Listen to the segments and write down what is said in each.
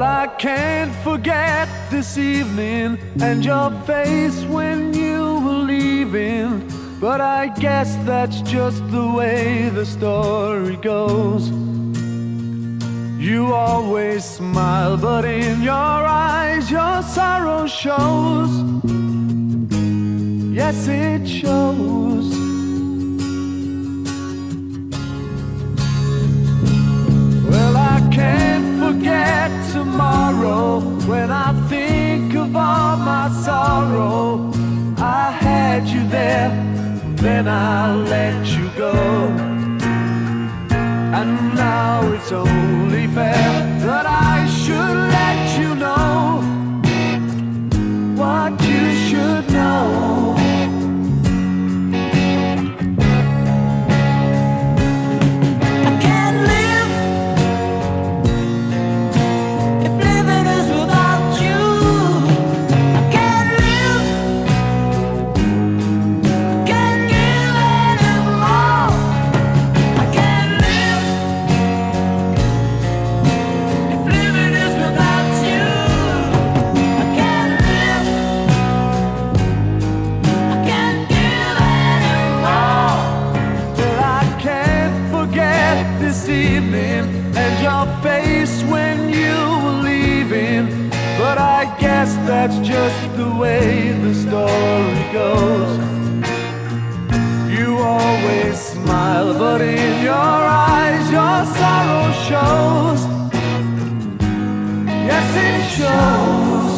Well, I can't forget this evening and your face when you were leaving, but I guess that's just the way the story goes. You always smile, but in your eyes your sorrow shows. Yes, it shows. Well, I can't forget tomorrow when I think of all my sorrow. I had you there, then I let you go. And now it's only fair that I should let you know what you should know. That's just the way the story goes. You always smile, but in your eyes your sorrow shows. Yes, it shows.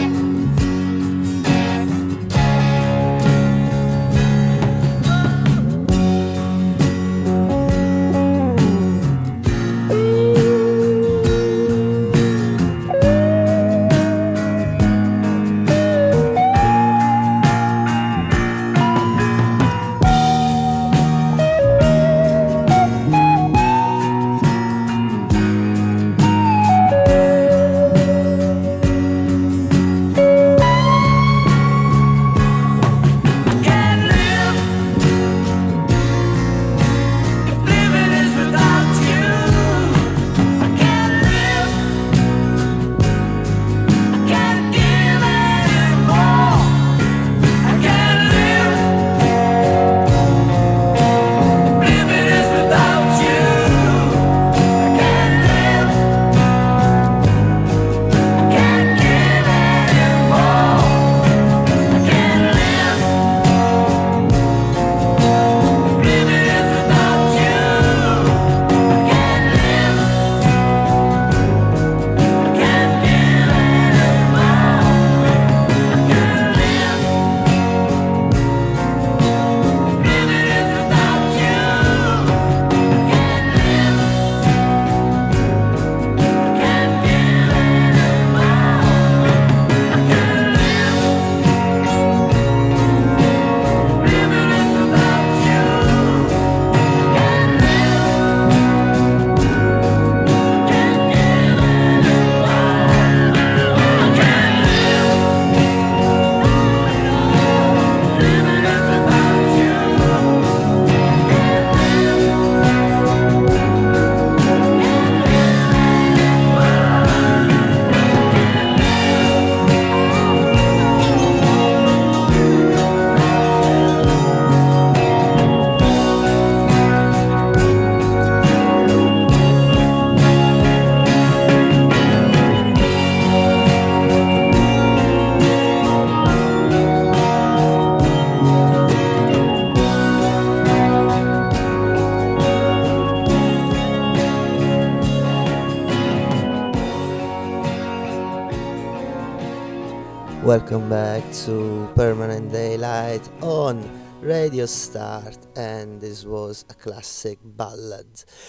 Welcome back to Permanent Daylight on Radio Start, and this was a classic ballad,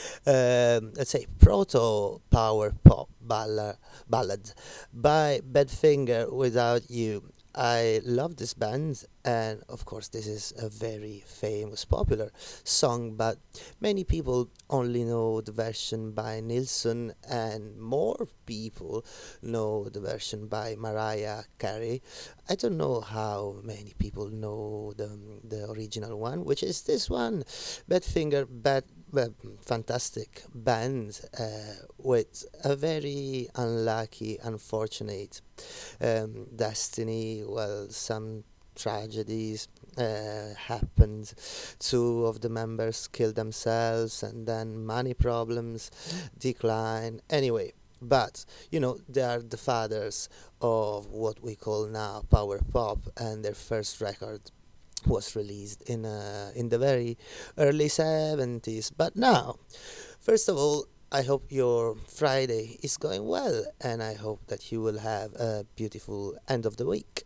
let's say proto power pop ballad by Badfinger, Without You. I love this band, and of course, this is a very famous, popular song, but many people only know the version by Nilsson, and more people know the version by Mariah Carey. I don't know how many people know the original one, which is this one, Badfinger, fantastic band with a very unlucky, unfortunate destiny. Well, some tragedies happened. Two of the members killed themselves, and then money problems, decline. Anyway, but they are the fathers of what we call now power pop, and their first record was released in the very early 70s. But now, first of all, I hope your Friday is going well, and I hope that you will have a beautiful end of the week.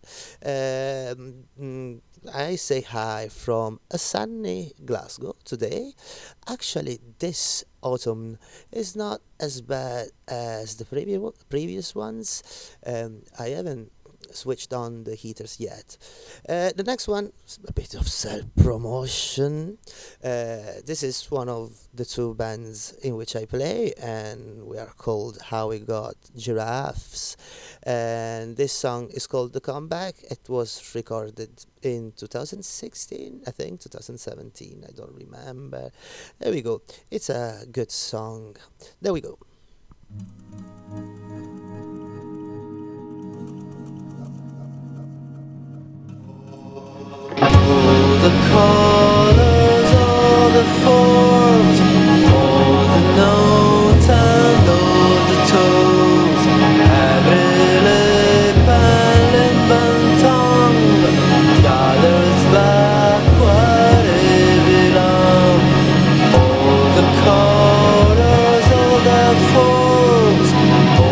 I say hi from a sunny Glasgow today. Actually, this autumn is not as bad as the previous ones. I haven't switched on the heaters yet. The next one is a bit of self promotion. This is one of the two bands in which I play, and we are called How We Got Giraffes. And this song is called The Comeback. It was recorded in 2016, I think, 2017, I don't remember. There we go. It's a good song. There we go. All the colors, all the forms, all the notes and all the tones. Every lip and lip and tongue gathers back where it belongs. All the colors, all the forms,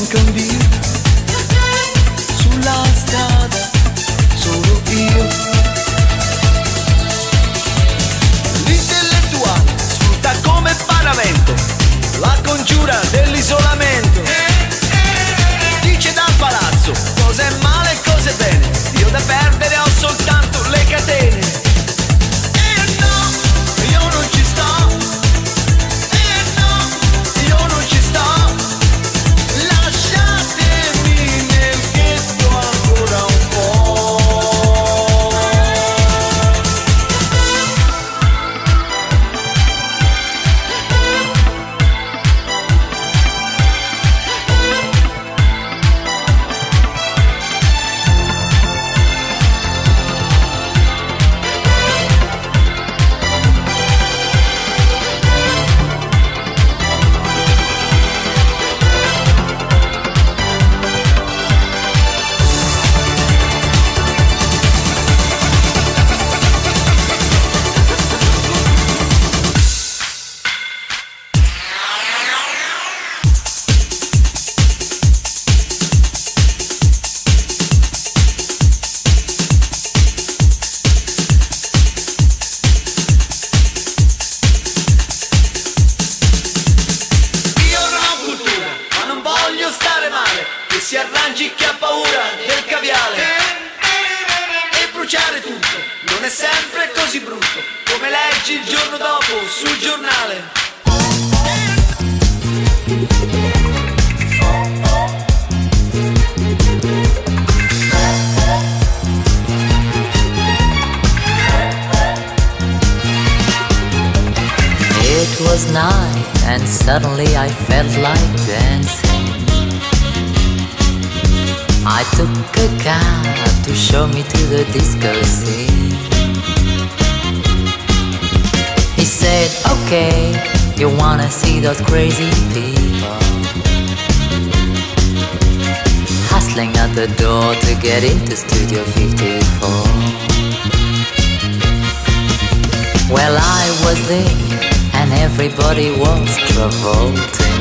manca un Dio, sulla strada solo io. L'intellettuale sfrutta come paravento la congiura dell'isolamento. Dice dal palazzo cosa è male e cosa è bene, io da perdere ho soltanto le catene. Suddenly I felt like dancing. I took a cab to show me to the disco scene. He said, okay, you wanna see those crazy people hustling at the door to get into Studio 54. Well, I was there and everybody was revolting.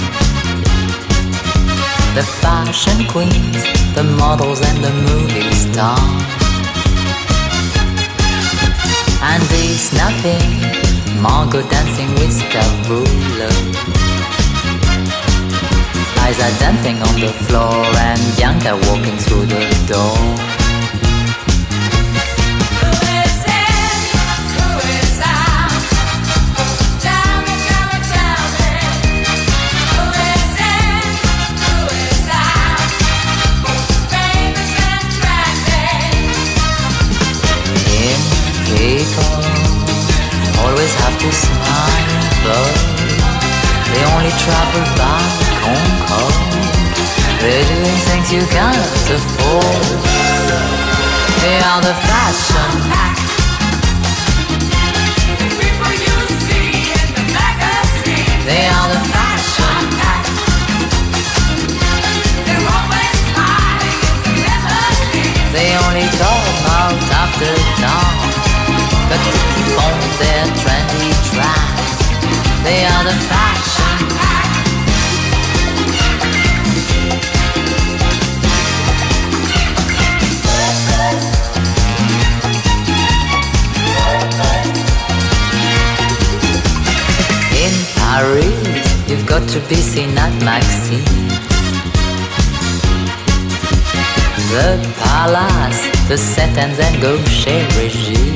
The fashion queens, the models and the movie stars. And this nothing, Margot dancing with Stavula. Liza dancing on the floor and Bianca walking through the door. People always have to smile, but they only travel by Concorde. They're doing things you can't afford. They are the fashion act. The people you see in the magazine. They are the fashion act. They're always smiling in the limousine. They only come out after dawn, but to keep on their trendy tracks. They are the fashion act. In Paris, you've got to be seen at Maxime's, the Palace, the Set and then Gaucher Regime.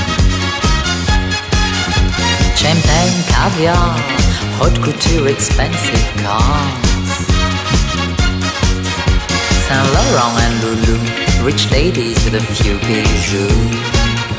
Champagne, caviar, haute couture, expensive cars. Saint Laurent and Lulu, rich ladies with a few bijoux.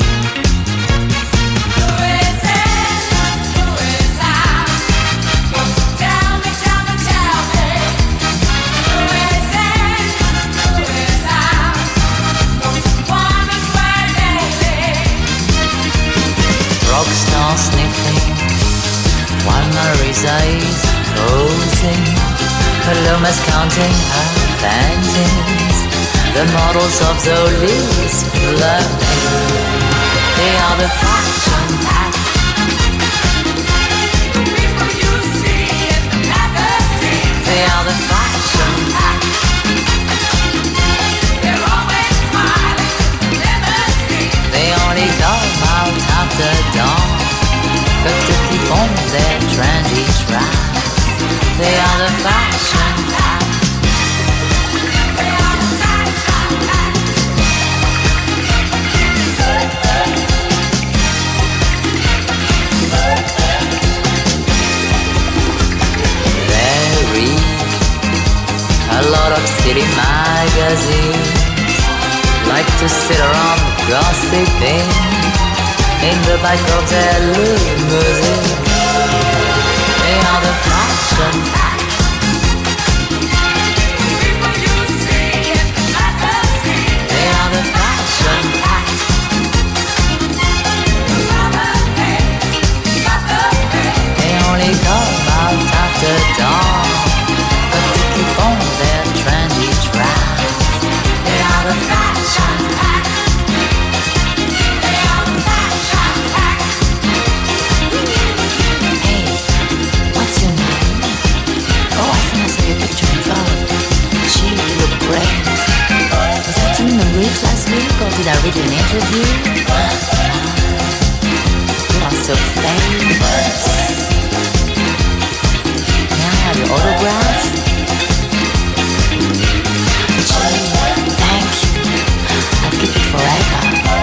Rockstar sniffing while Marisa is posing. Paloma's counting her panties. The models of Zoli's flirting. They are the fashion act. The people you see in the magazine. They are the fashion tracks. They are the fashion packs. A lot of city magazines like to sit around gossiping in the back of their limousine. They are the fashion packs. People you see in the magazine. They are the fashion packs. They only come out after dawn, but to keep on their trendy tracks. They are the fashion packs. They are the fashion packs. Hey, what's your name? Oh, I think I saw your picture in phone. Gee, you look great. Was that you in the week last week, or did I read an interview? You are so famous. May I have your autograph? Thank you. I'll keep it forever.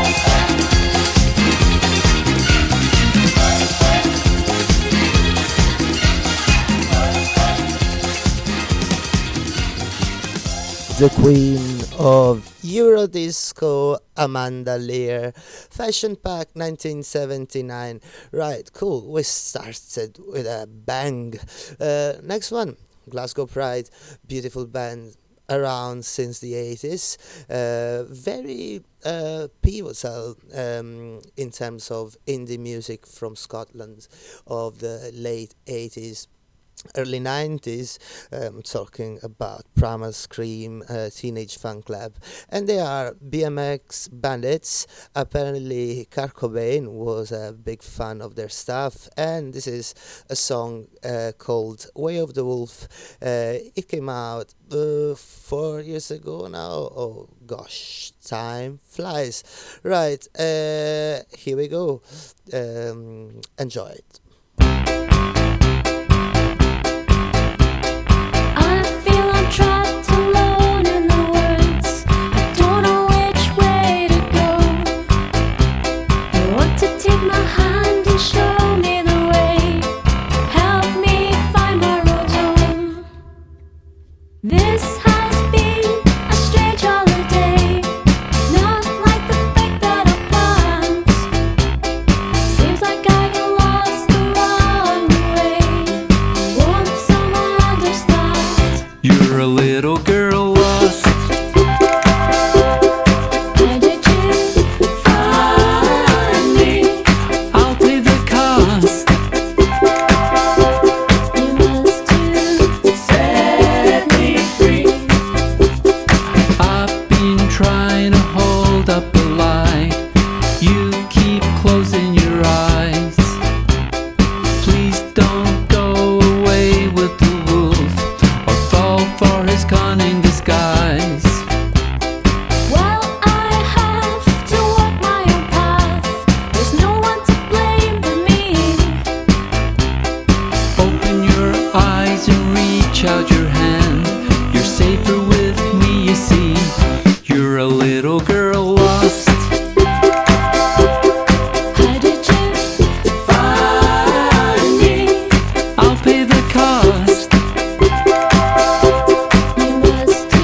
The queen of Eurodisco, Amanda Lear. Fashion Pack 1979. Right, cool. We started with a bang. Next one, Glasgow Pride. Beautiful band, around since the 80s. Very pivotal in terms of indie music from Scotland of the late 80s. Early 90s, talking about Primal Scream, Teenage Fan Club, and they are BMX Bandits. Apparently Kurt Cobain was a big fan of their stuff, and this is a song called Way of the Wolf. It came out 4 years ago now. Oh gosh, time flies. Right, here we go. Enjoy it. Trapped alone in the woods, I don't know which way to go. You want to take my hand and show me the way, help me find my road home. This has been a strange holiday, not like the break that I planned. Seems like I get lost along the way. Won't someone understand? You're a little girl lost. Where did you find me? I'll pay the cost. You must have set me free. I've been trying to hold up a light. You keep closing your eyes. Please don't go away with the wolf or fall for his cunning disguise. Well, I have to walk my own path. There's no one to blame but me. Open your eyes and reach out your hand. You're safer with me, you see. You're a little girl lost. How did you find me? I'll pay the cost. You must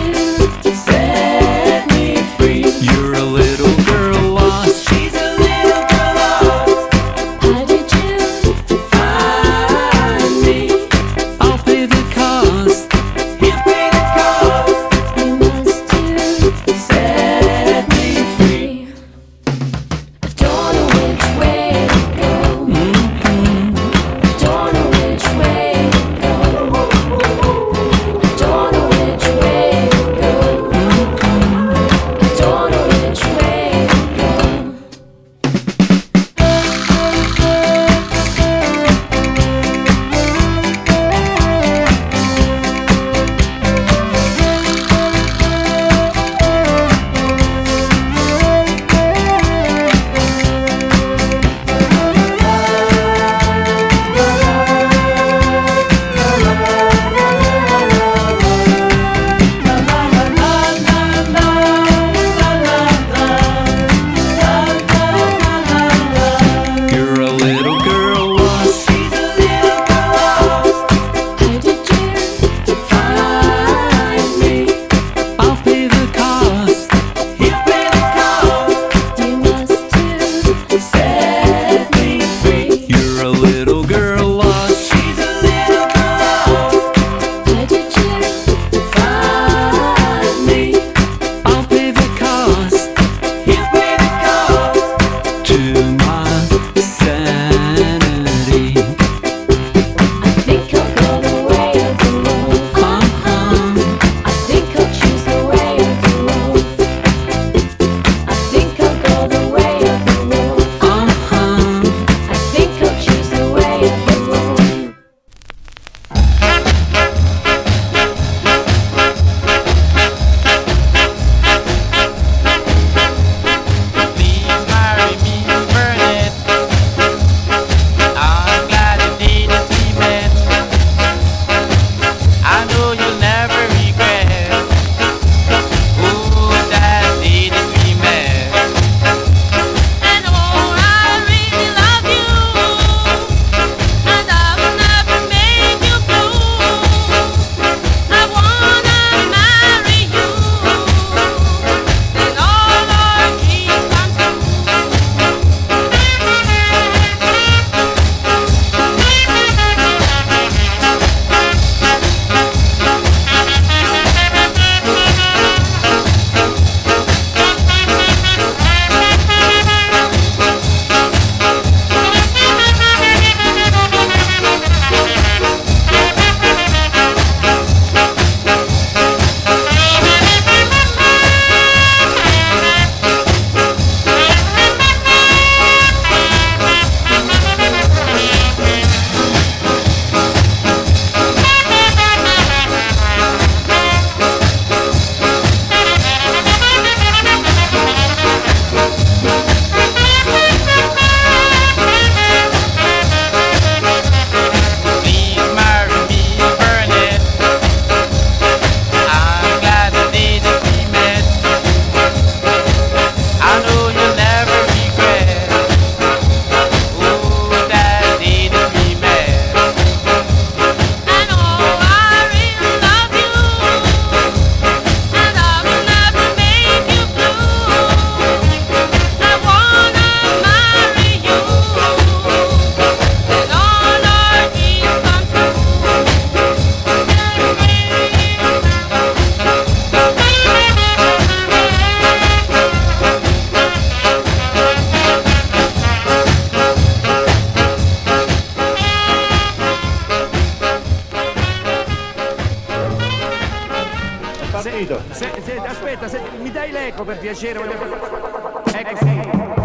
finito. Aspetta, mi dai l'eco per piacere? Ecco, sì.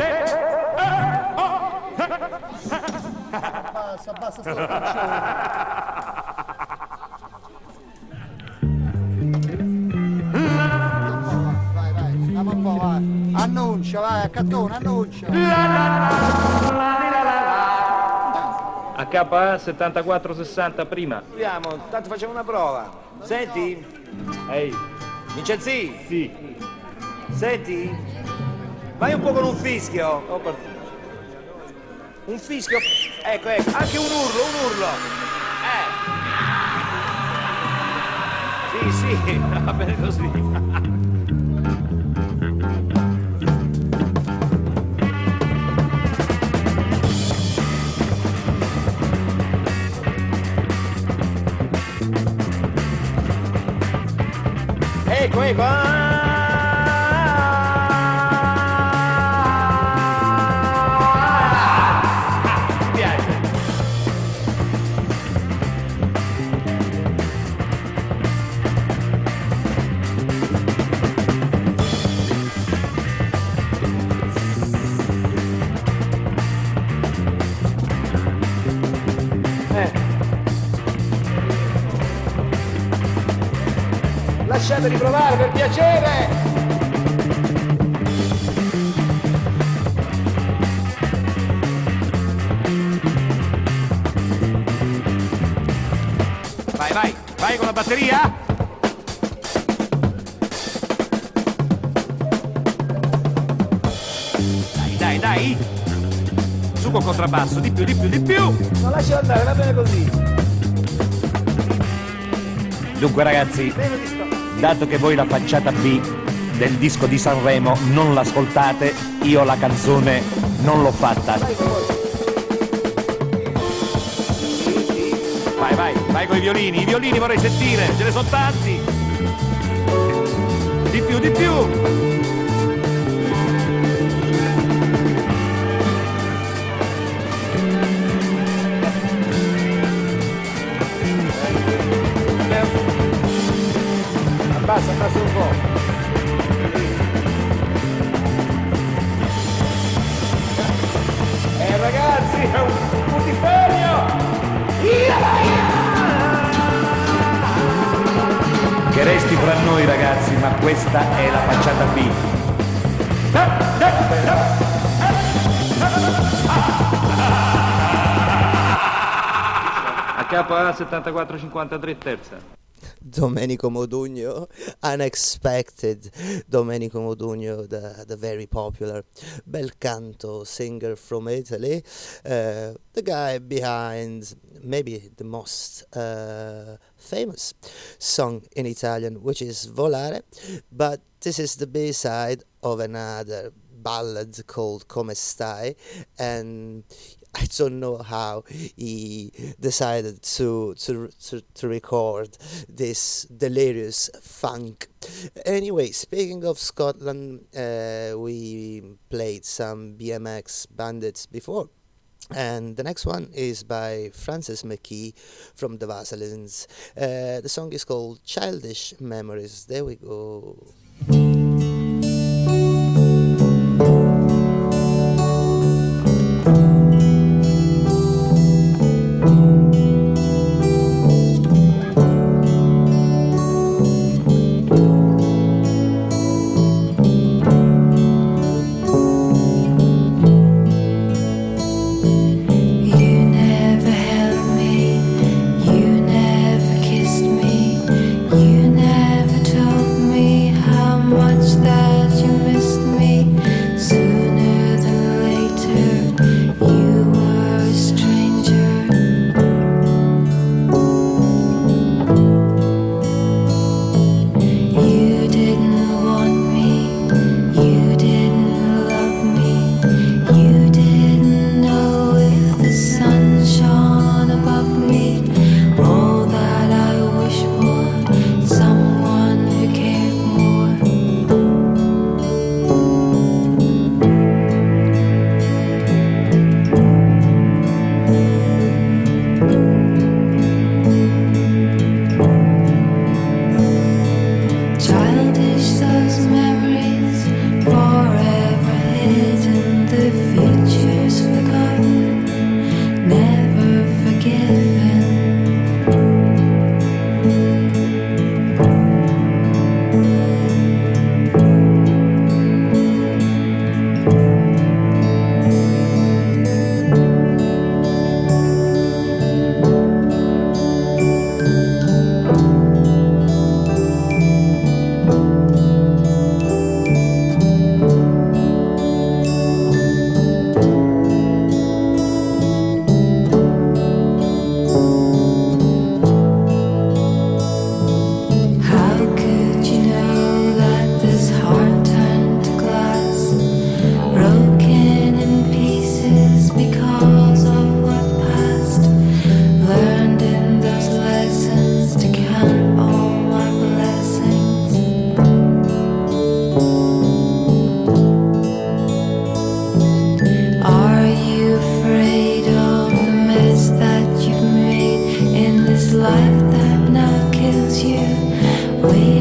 Basta sto faccione. Vai, andiamo un po', vai. Annuncia, vai, a cattone, annuncia. HA 7460 prima. Proviamo, tanto facciamo una prova. Senti? Ehi, Vincenzi? sì. Senti? Vai un po' con un fischio. Ho partito. Un fischio. Ecco, anche un urlo. Sì, va bene così. Ecco. Mi piace. Lasciateli provare, per piacere! Vai con la batteria! Dai! Su col contrabbasso, di più! Non lascialo andare, va bene così! Dunque ragazzi, dato che voi la facciata B del disco di Sanremo non l'ascoltate, io la canzone non l'ho fatta. Vai con i violini vorrei sentire, ce ne sono tanti! Di più! Abbassa un po'. Ragazzi, è un putiferio! Che resti fra noi ragazzi, ma questa è la facciata B. HA 7453 terza. Domenico Modugno, unexpected Domenico Modugno, the very popular bel canto singer from Italy, the guy behind maybe the most famous song in Italian, which is Volare, but this is the B-side of another ballad called Come Stai, and I don't know how he decided to record this delirious funk. Anyway, speaking of Scotland, we played some BMX Bandits before. And the next one is by Francis McKee from the Vaselines. The song is called Childish Memories. There we go. You never told me how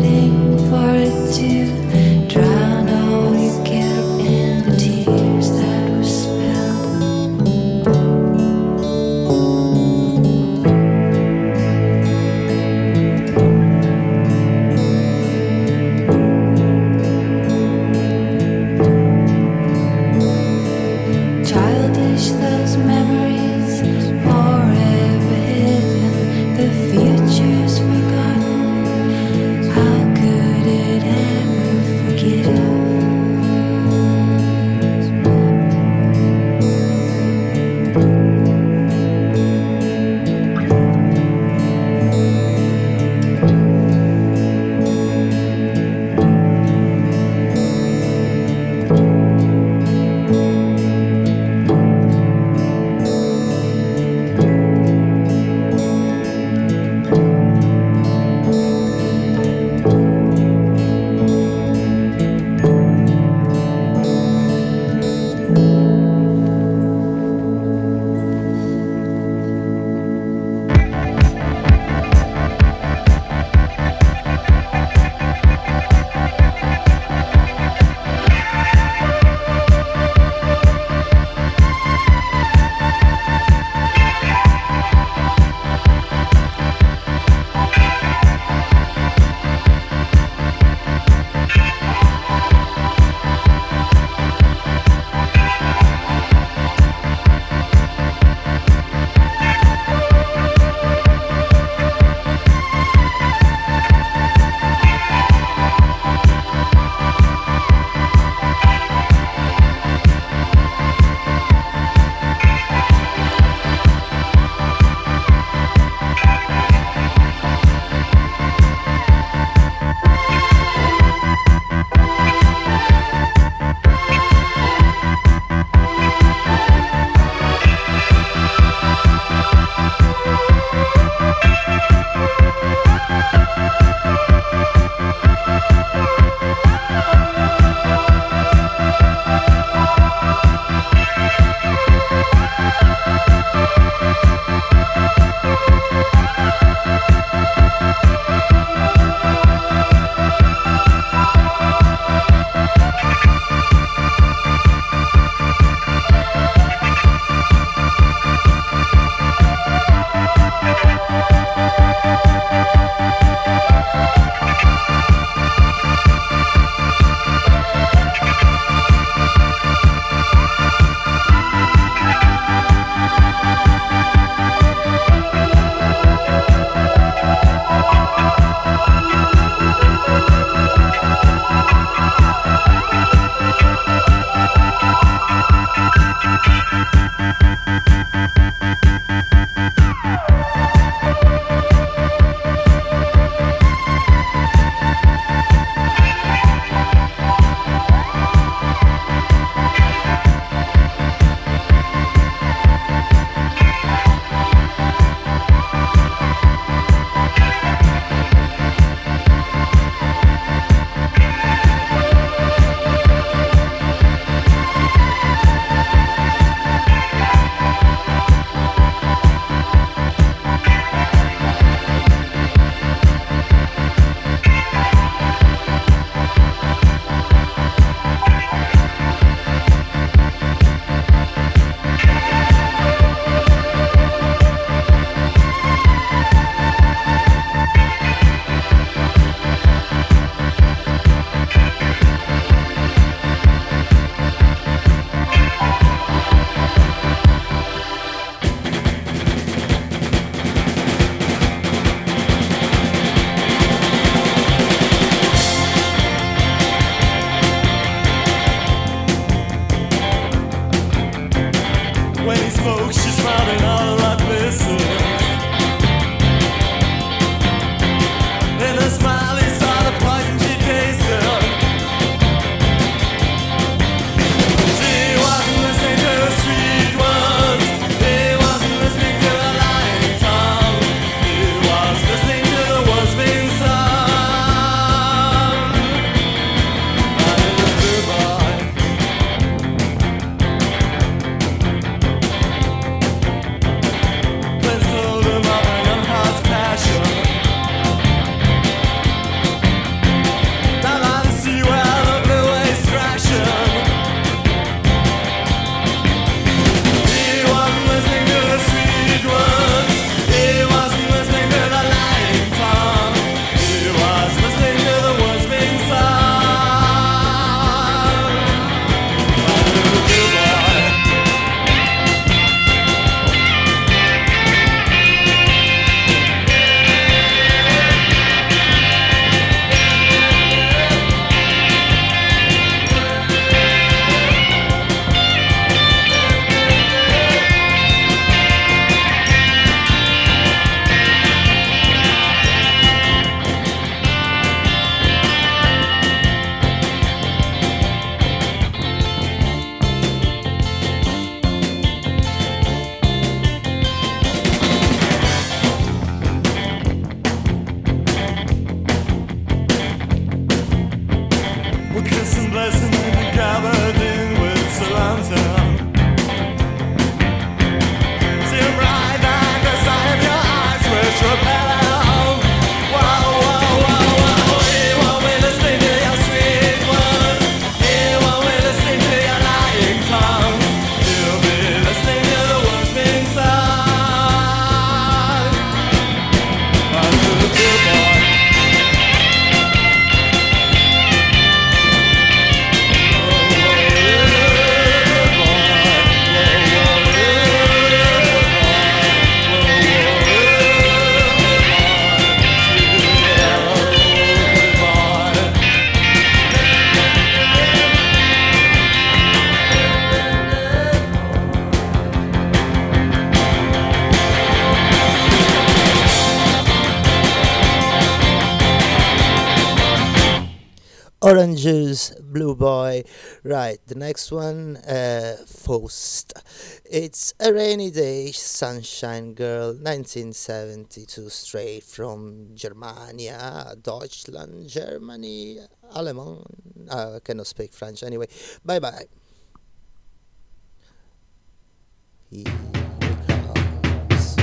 waiting for it to drown all your guilt in the tears that were spilled. Childish those memories forever hidden, the future's forgotten. How could it ever blessing gathered in with surround sound. Seem right at the sight of your eyes, which repel. Wow, wow, wow, wow. Here one way listening to your sweet words. Here one way listening to your lying tongue. You'll be listening to the words being sung. I'm the good boy. Orange Juice, Blue Boy. Right, the next one, Faust. It's a rainy day, Sunshine Girl, 1972, straight from Germania, Deutschland, Germany, Allemand. I cannot speak French anyway. Bye bye. Here it comes.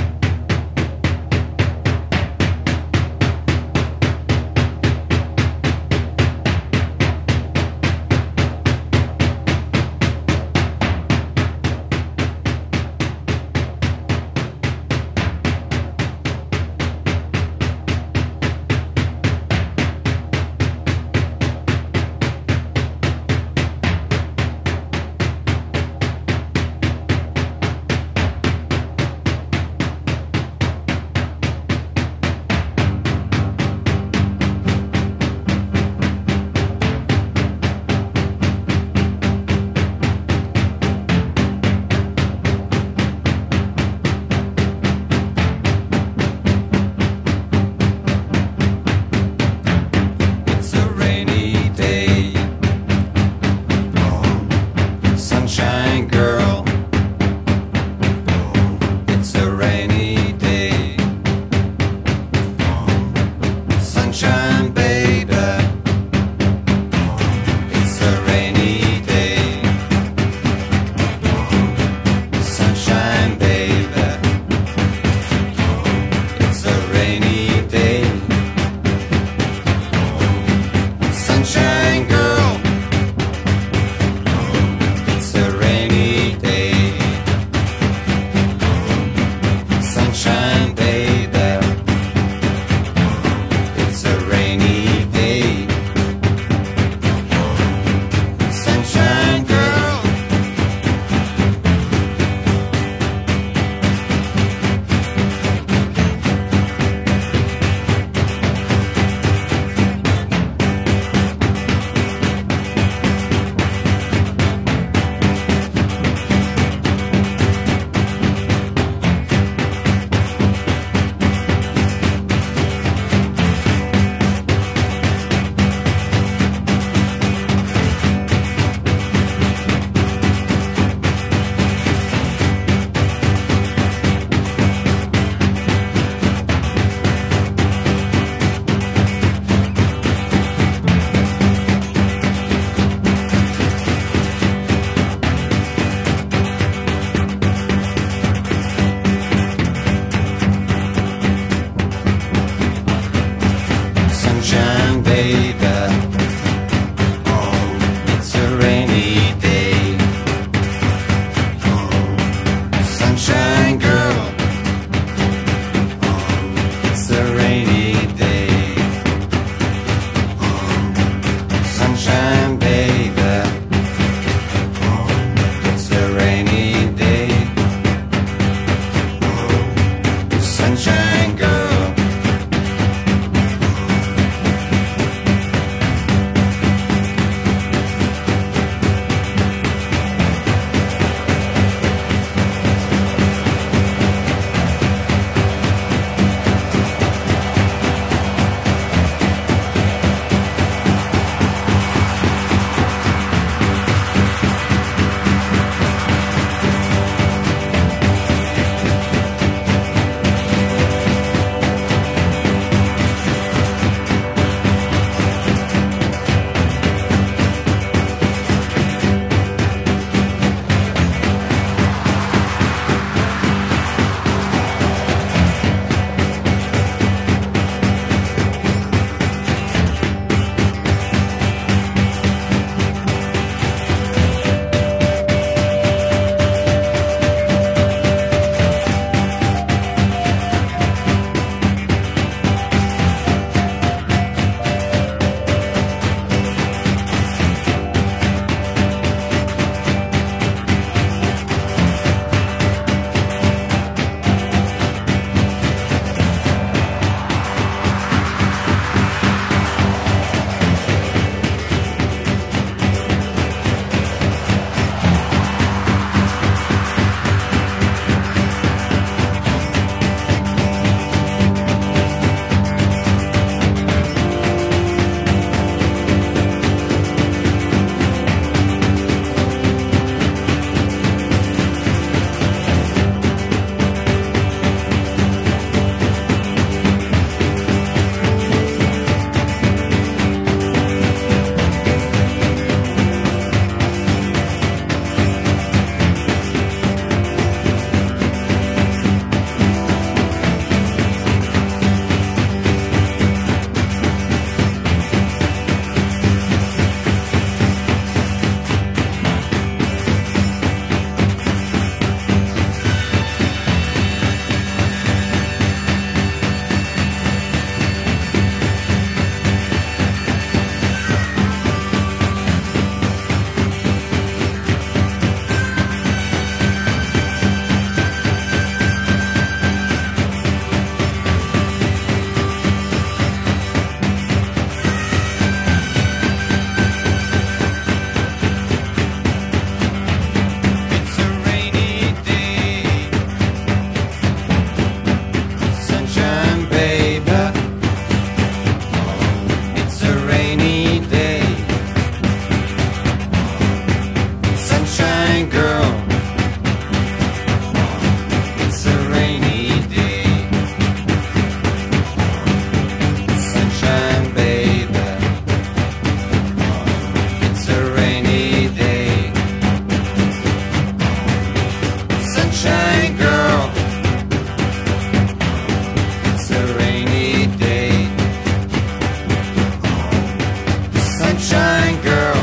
sunshine girl.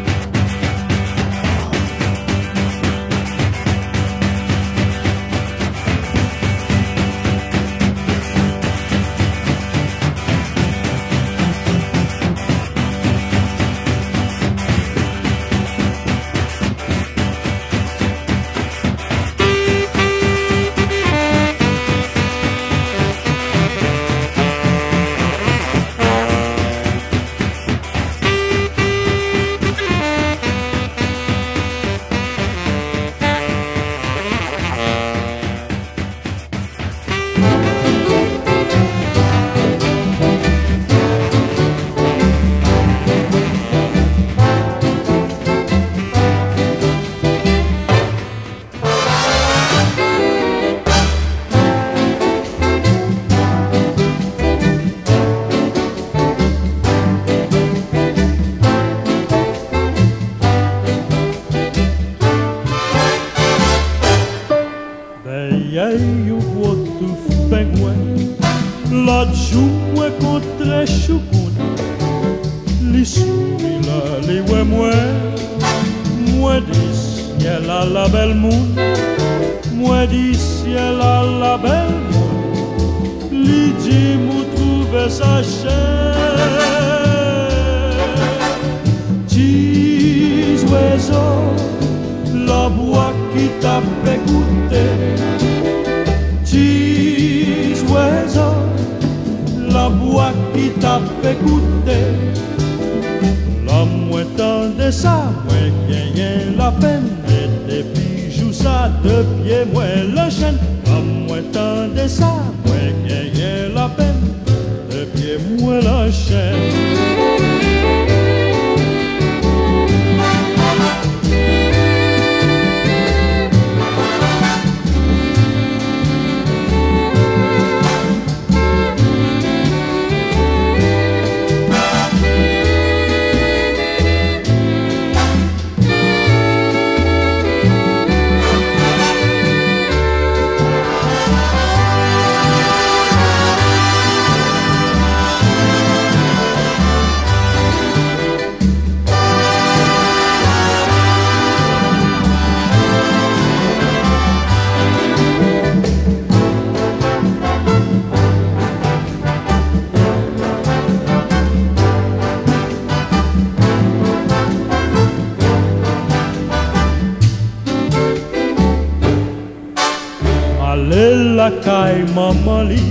Kay maman li,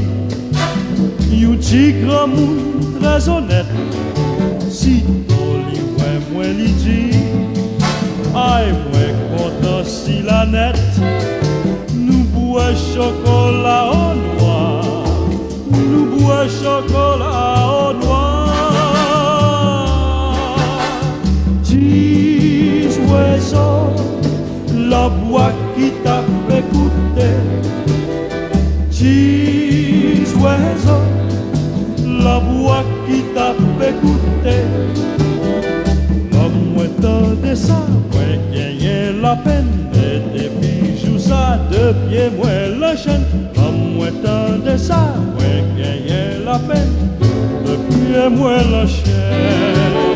you ti grand moun très honnête. Si li wè mwen li di, ay mwen kontan si la net. Nou boue chocolat au noir, nou boue chocolat au noir. Dis oiseau, la voix qui t'a fait goûter. Dis oiseau, la voix qui t'a fait goûter. L'homme de ça, moi gagner la peine. Et des bijoux ça, de pieds moi la chaîne. L'homme de ça, moi gagner la peine. De pieds moi la chaîne.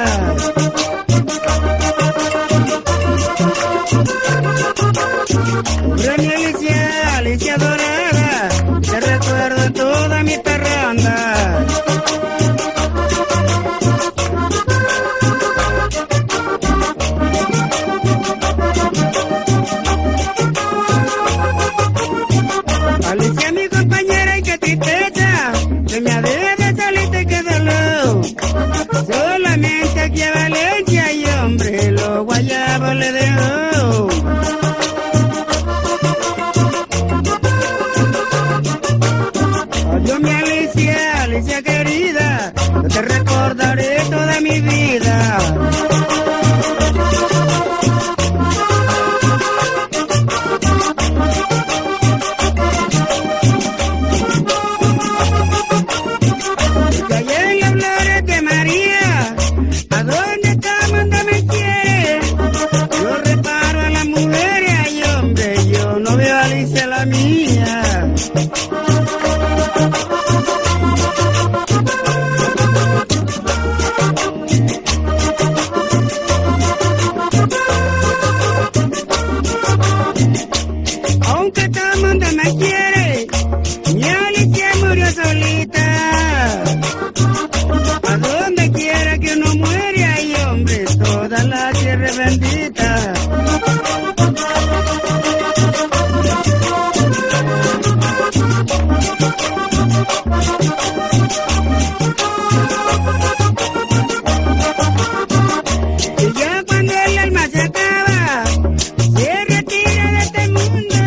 Hombre, mi Alicia, Alicia dorada, te recuerdo en toda mi parranda. Alicia, mi compañera, y qué tristeza, que me adrede saliste que de luz. Solamente aquí a Valencia y hombre, los guayabos le dejó. Adiós mi Alicia, Alicia querida, yo te recordaré toda mi vida. Porque allá en las flores de María, ¿a dónde está? Mándame quiere. Yo reparo a las mujeres, ay hombre, yo no veo a Alicia la mía. Aunque todo el mundo me quiere, mi Alicia murió solita. A donde quiera que uno muere, hay hombres, toda la tierra es bendita. Y ya cuando el alma se acaba, se retira de este mundo.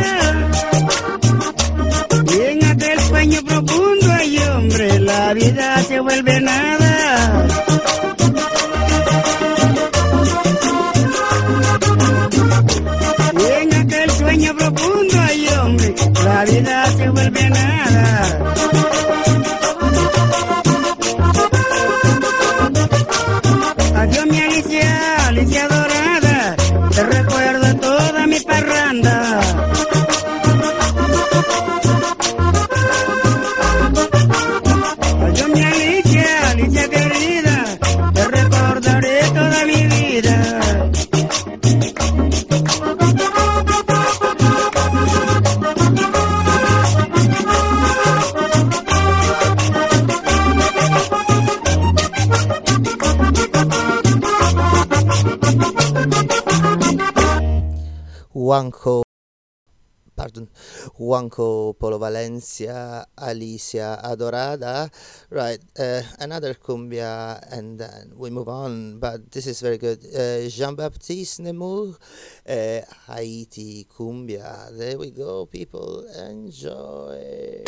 Y en aquel sueño profundo, ay hombre, la vida se vuelve nada. Y en aquel sueño profundo, ay hombre, la vida se vuelve nada. Adiós mi Alicia, Alicia dorada, te recuerdo en toda mi parranda. Adiós mi Alicia, Alicia querida, te recordaré toda mi vida. Juanco Polo Valencia, Alicia Adorada. Right, another cumbia and then we move on, but this is very good. Jean-Baptiste Nemours, Haiti cumbia. There we go, people, enjoy.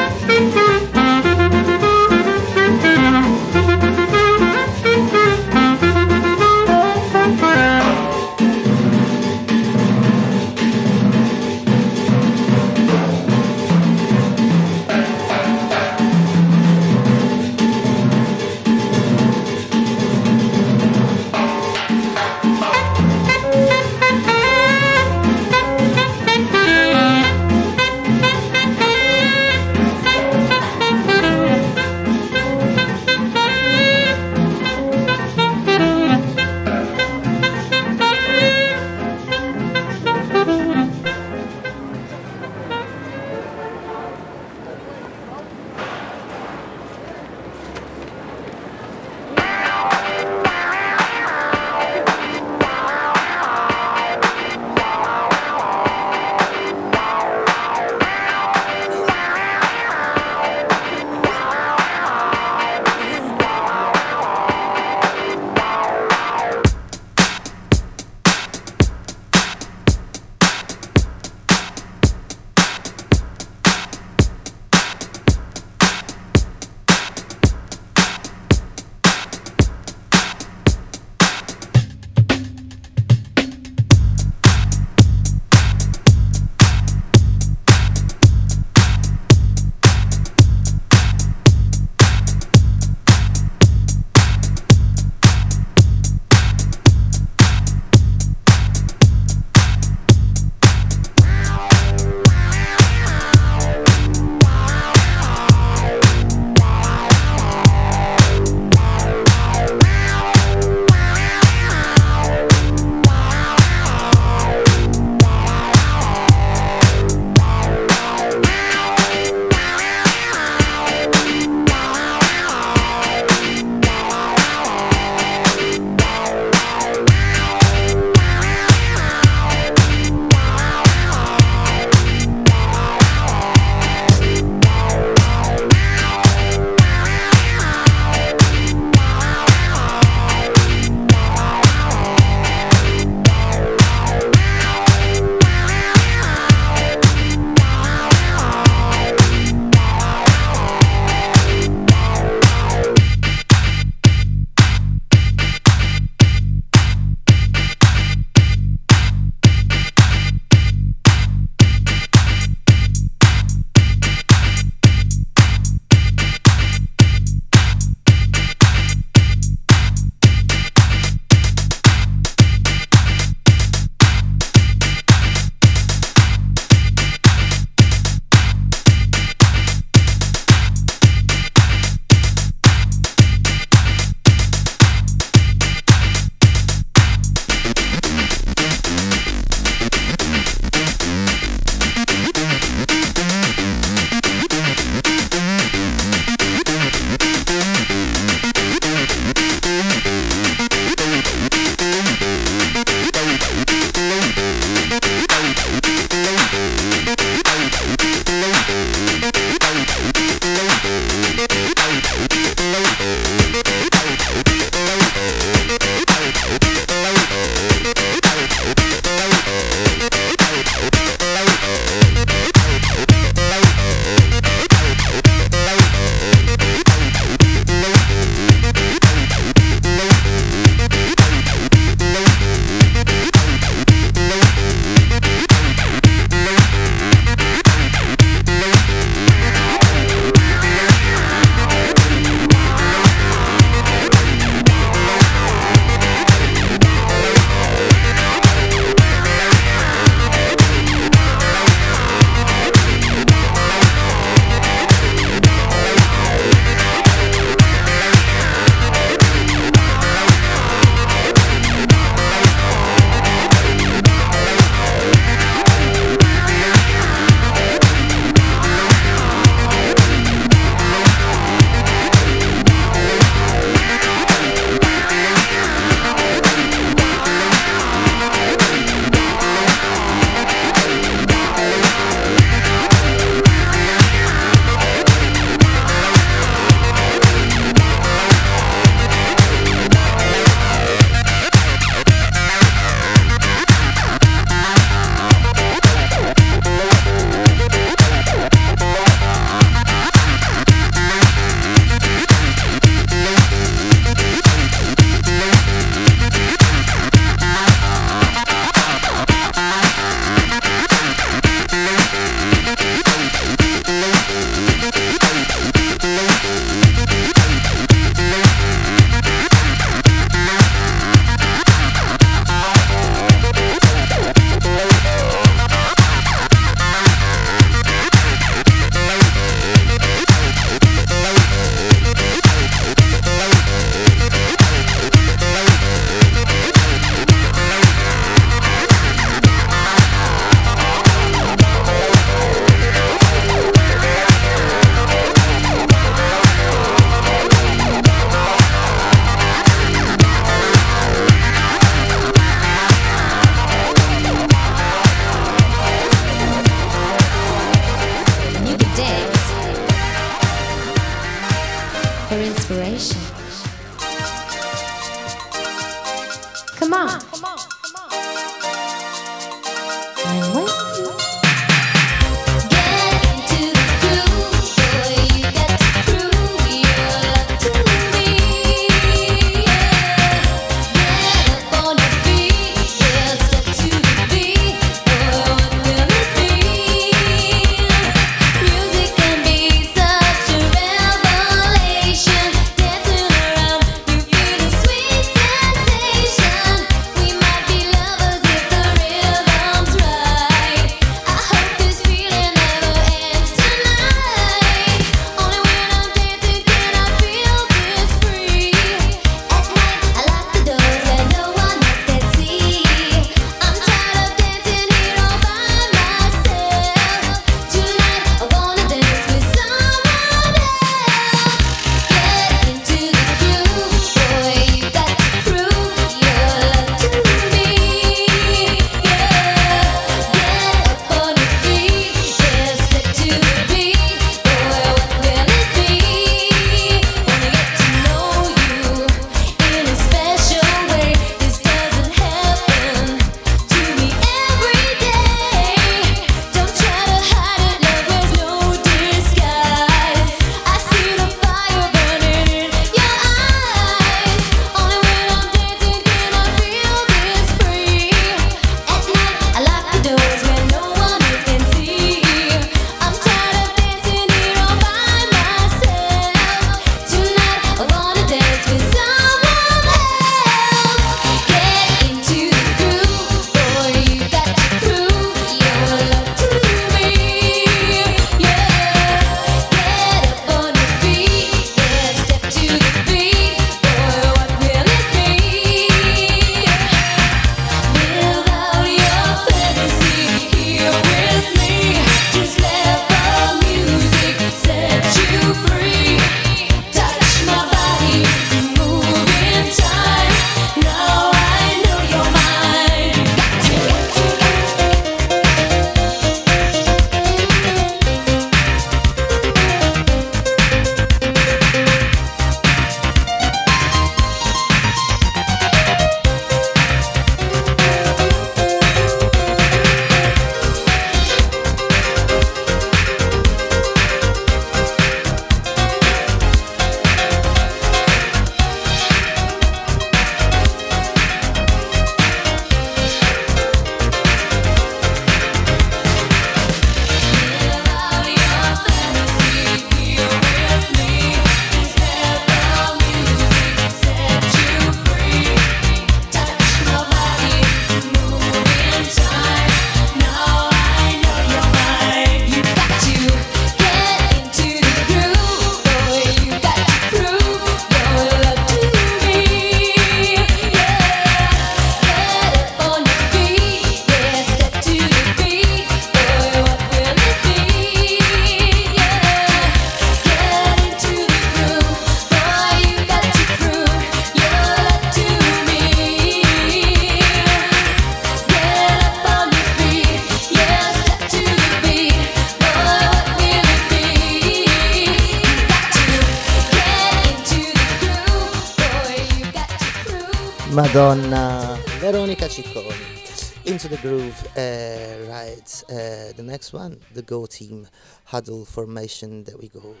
Madonna, Veronica Cicconi. Into the Groove, right. The next one, the Go Team, Huddle Formation, there we go.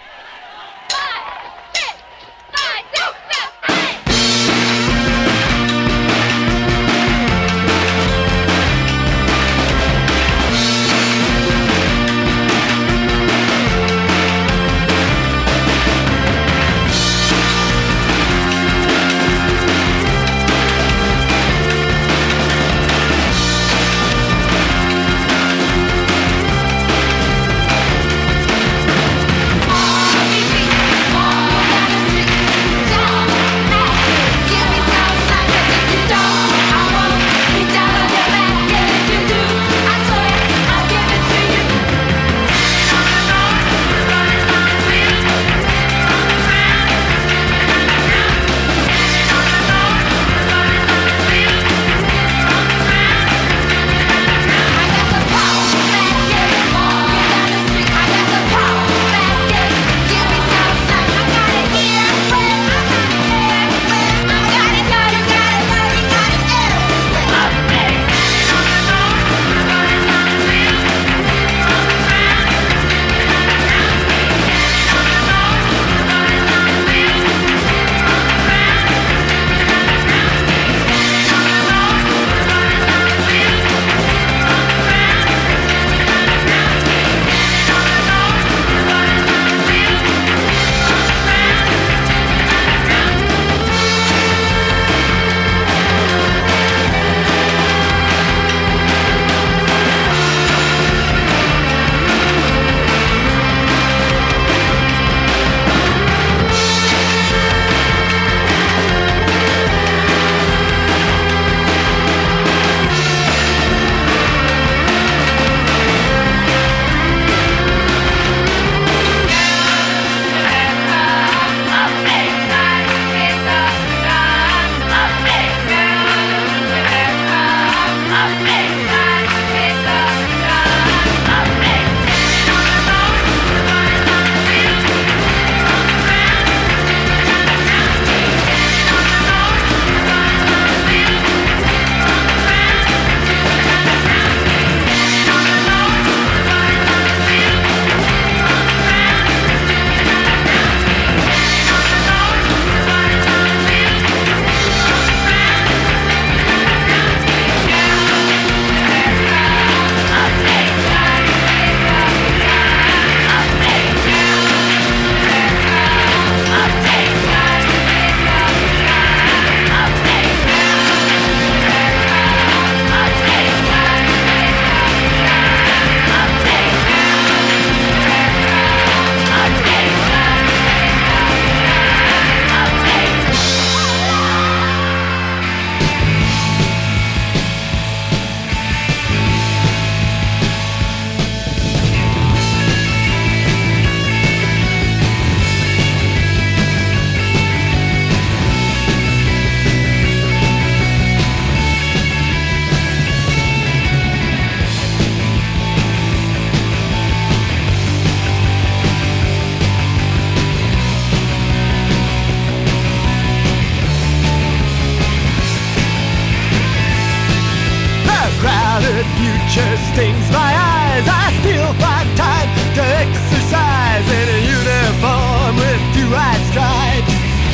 future stings my eyes. I still find time to exercise in a uniform with 2 white stripes.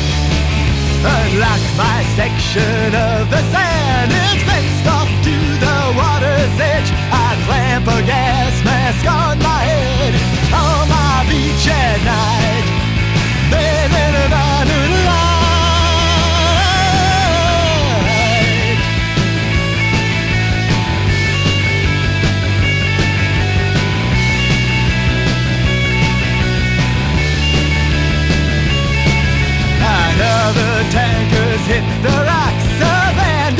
Unlock my section of the sand, it's fenced off to the water's edge. I clamp a gas mask on my head on my beach at night. Then in an honored light. Another tanker's hit the rocks, a band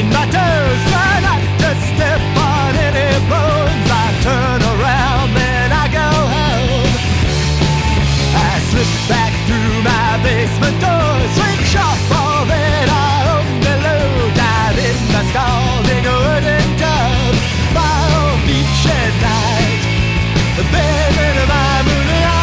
between my toes. Try not to step on any bones. I turn around, then I go home. I slip back through my basement door, swing sharp all that I own below, dive in my scalding wooden tub, fire on beach at night, bathing in my moonlight.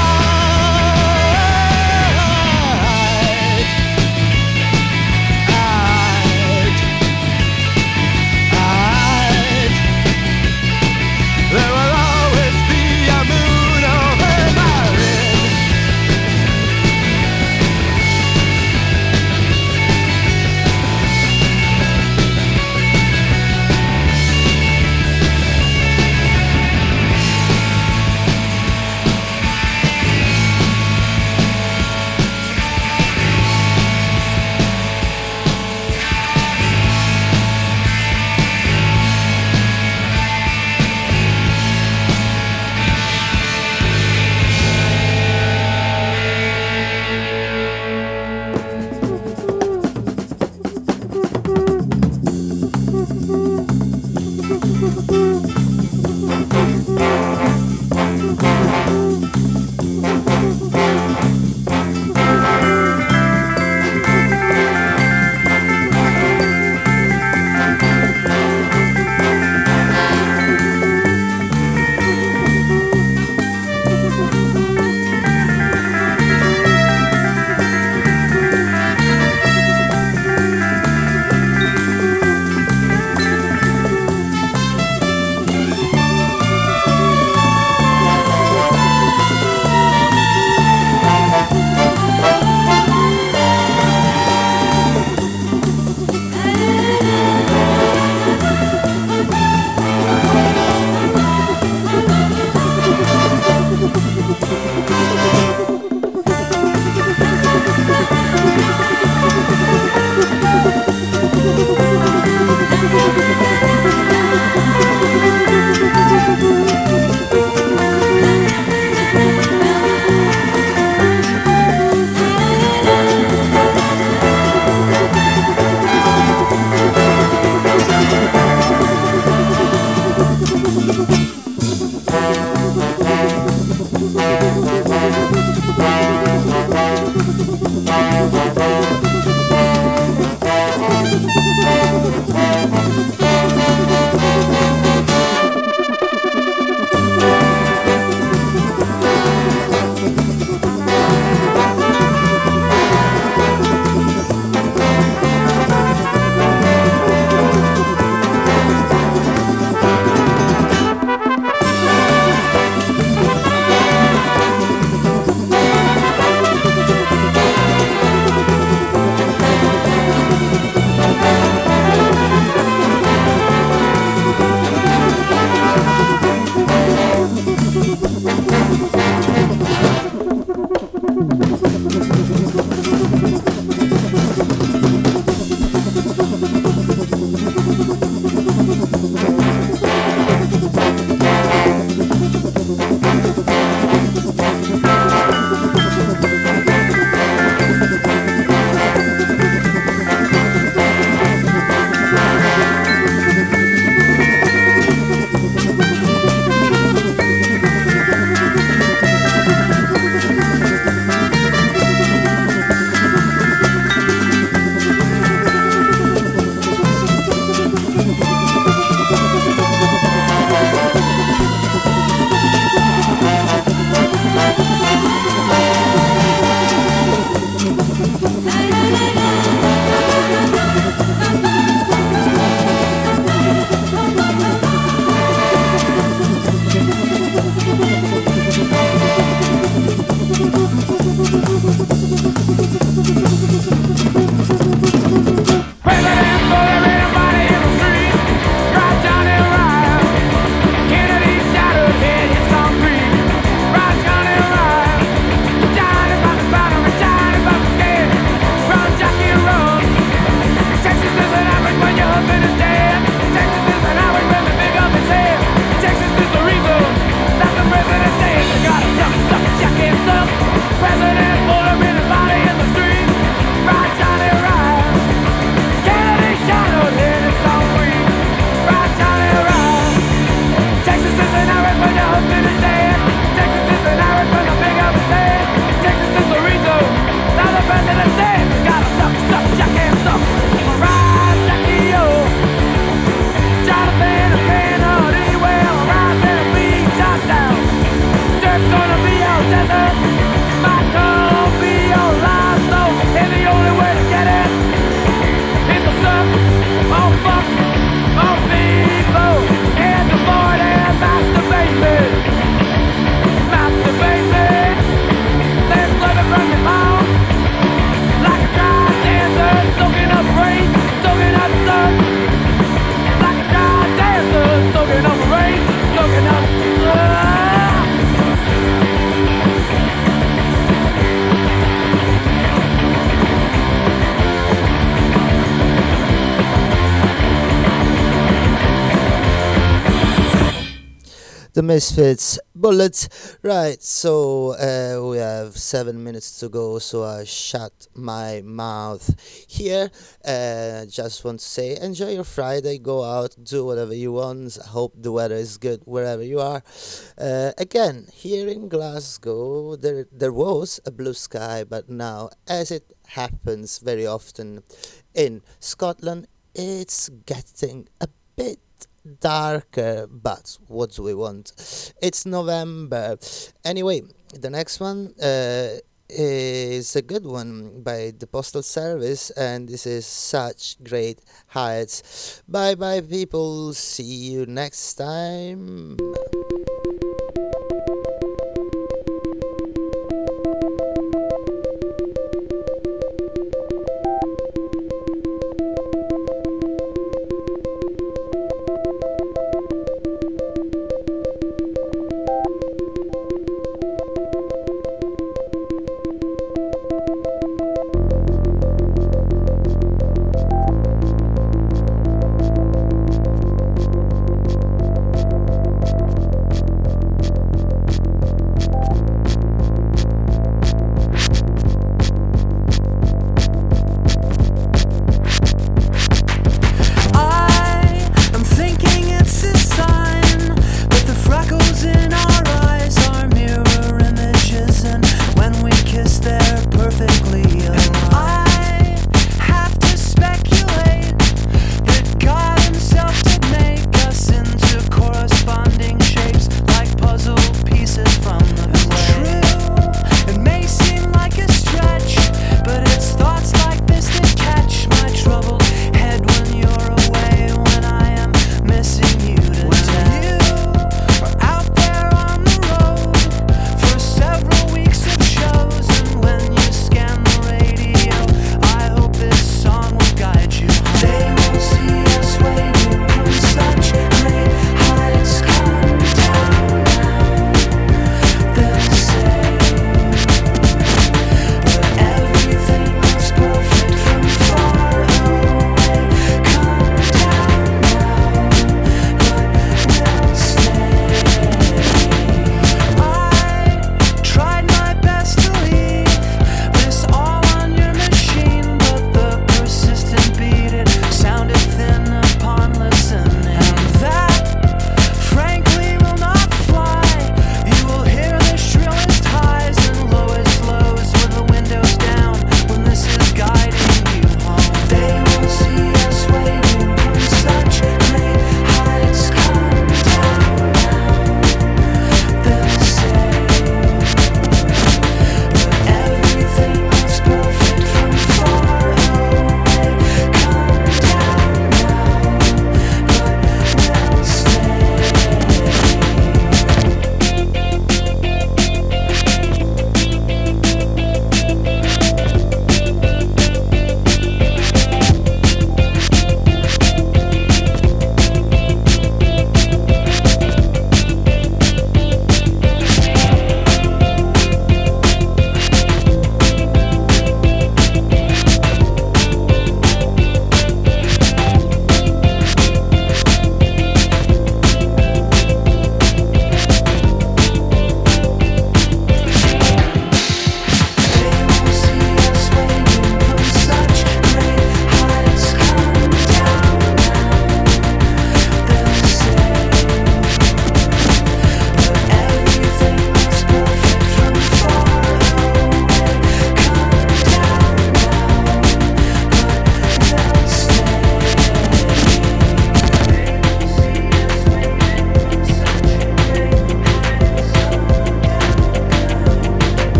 Misfits, Bullets. Right, so we have 7 minutes to go, so I shut my mouth here. Just want to say, enjoy your Friday, go out, do whatever you want. I hope the weather is good wherever you are. Again, here in Glasgow, there was a blue sky, but now, as it happens very often in Scotland, it's getting a bit darker, but what do we want? It's November. Anyway, the next one is a good one by the Postal Service, and this is Such Great Heights. Bye bye, people. See you next time.